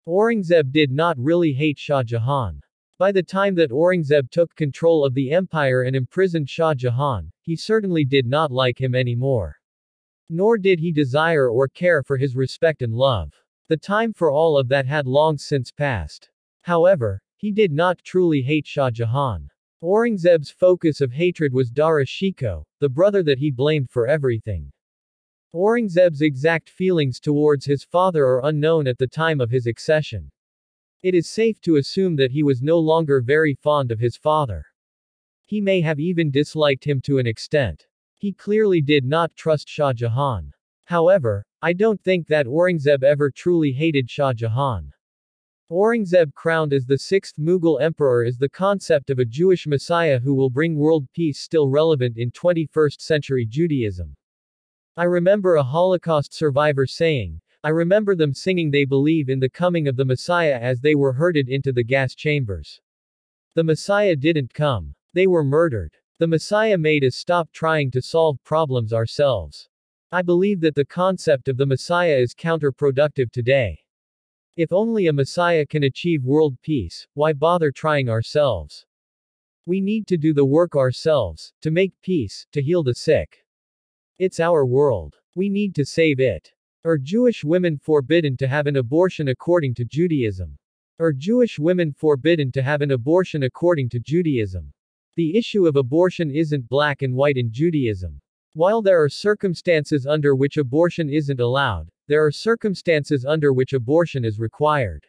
Aurangzeb did not really hate Shah Jahan. By the time that Aurangzeb took control of the empire and imprisoned Shah Jahan, he certainly did not like him anymore. Nor did he desire or care for his respect and love. The time for all of that had long since passed. However, he did not truly hate Shah Jahan. Aurangzeb's focus of hatred was Dara Shikoh, the brother that he blamed for everything. Aurangzeb's exact feelings towards his father are unknown at the time of his accession. It is safe to assume that he was no longer very fond of his father. He may have even disliked him to an extent. He clearly did not trust Shah Jahan. However, I don't think that Aurangzeb ever truly hated Shah Jahan. Aurangzeb crowned as the sixth Mughal emperor is the concept of a Jewish messiah who will bring world peace still relevant in 21st century Judaism. I remember a Holocaust survivor saying, I remember them singing they believe in the coming of the Messiah as they were herded into the gas chambers. The Messiah didn't come. They were murdered. The Messiah made us stop trying to solve problems ourselves. I believe that the concept of the Messiah is counterproductive today. If only a Messiah can achieve world peace, why bother trying ourselves? We need to do the work ourselves, to make peace, to heal the sick. It's our world. We need to save it. Are Jewish women forbidden to have an abortion according to Judaism? Are Jewish women forbidden to have an abortion according to Judaism? The issue of abortion isn't black and white in Judaism. While there are circumstances under which abortion isn't allowed, there are circumstances under which abortion is required.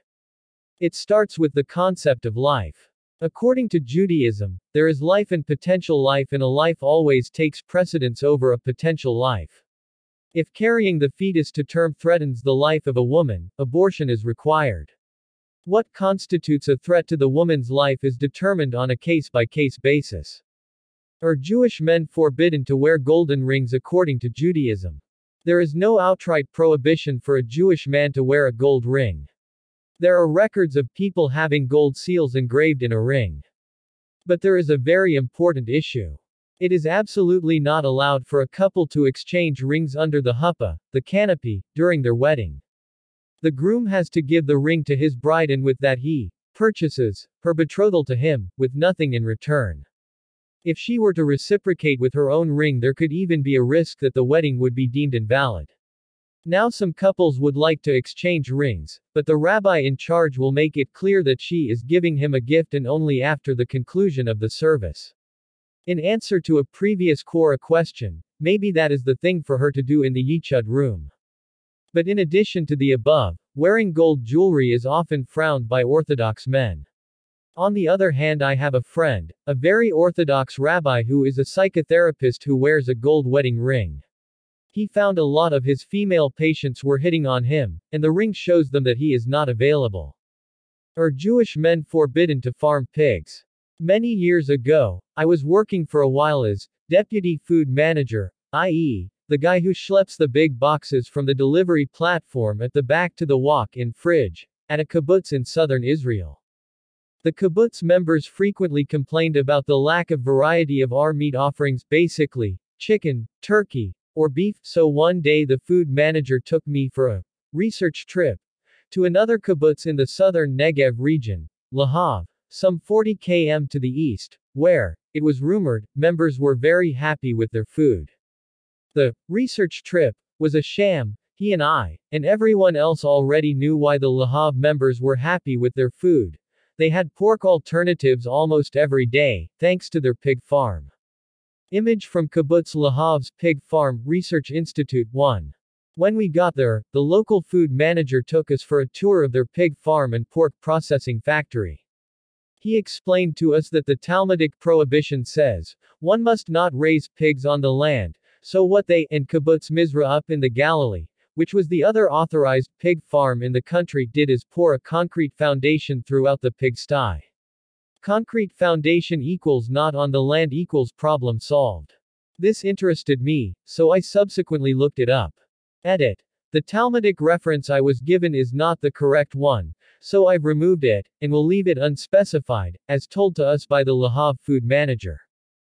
It starts with the concept of life. According to Judaism, there is life and potential life, and a life always takes precedence over a potential life. If carrying the fetus to term threatens the life of a woman, abortion is required. What constitutes a threat to the woman's life is determined on a case-by-case basis. Are Jewish men forbidden to wear golden rings according to Judaism? There is no outright prohibition for a Jewish man to wear a gold ring. There are records of people having gold seals engraved in a ring. But there is a very important issue. It is absolutely not allowed for a couple to exchange rings under the huppah, the canopy, during their wedding. The groom has to give the ring to his bride, and with that he purchases her betrothal to him, with nothing in return. If she were to reciprocate with her own ring, there could even be a risk that the wedding would be deemed invalid. Now some couples would like to exchange rings, but the rabbi in charge will make it clear that she is giving him a gift and only after the conclusion of the service. In answer to a previous Quora question, maybe that is the thing for her to do in the Yichud room. But in addition to the above, wearing gold jewelry is often frowned by Orthodox men. On the other hand, I have a friend, a very Orthodox rabbi who is a psychotherapist who wears a gold wedding ring. He found a lot of his female patients were hitting on him, and the ring shows them that he is not available. Are Jewish men forbidden to farm pigs? Many years ago, I was working for a while as deputy food manager, i.e., the guy who schleps the big boxes from the delivery platform at the back to the walk-in fridge, at a kibbutz in southern Israel. The kibbutz members frequently complained about the lack of variety of our meat offerings, basically, chicken, turkey, or beef, so one day the food manager took me for a research trip to another kibbutz in the southern Negev region, Lahav, some 40 km to the east, where, it was rumored, members were very happy with their food. The research trip was a sham. He and I, and everyone else already knew why the Lahav members were happy with their food. They had pork alternatives almost every day, thanks to their pig farm. Image from Kibbutz Lahav's Pig Farm Research Institute 1. When we got there, the local food manager took us for a tour of their pig farm and pork processing factory. He explained to us that the Talmudic prohibition says, one must not raise pigs on the land, so what they, and Kibbutz Mizra up in the Galilee, which was the other authorized pig farm in the country, did is pour a concrete foundation throughout the pigsty. Concrete foundation equals not on the land equals problem solved. This interested me, so I subsequently looked it up. Edit. The Talmudic reference I was given is not the correct one, so I've removed it, and will leave it unspecified, as told to us by the Lahav food manager.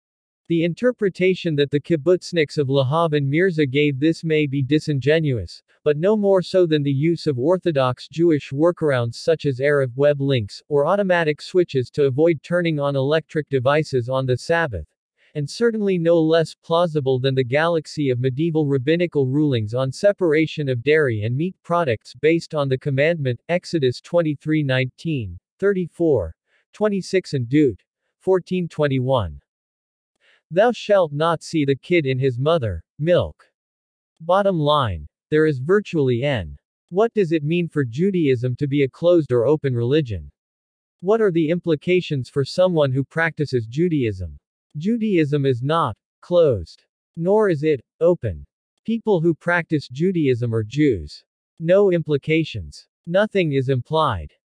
The interpretation that the kibbutzniks of Lahav and Mirza gave this may be disingenuous, but no more so than the use of Orthodox Jewish workarounds such as Arab web links, or automatic switches to avoid turning on electric devices on the Sabbath, and certainly no less plausible than the galaxy of medieval rabbinical rulings on separation of dairy and meat products based on the commandment, Exodus 23:19, 34, 26 and Deut. 14:21. Thou shalt not see the kid in his mother, milk. Bottom line. There is virtually n. What does it mean for Judaism to be a closed or open religion? What are the implications for someone who practices Judaism? Judaism is not closed. Nor is it open. People who practice Judaism are Jews. No implications. Nothing is implied.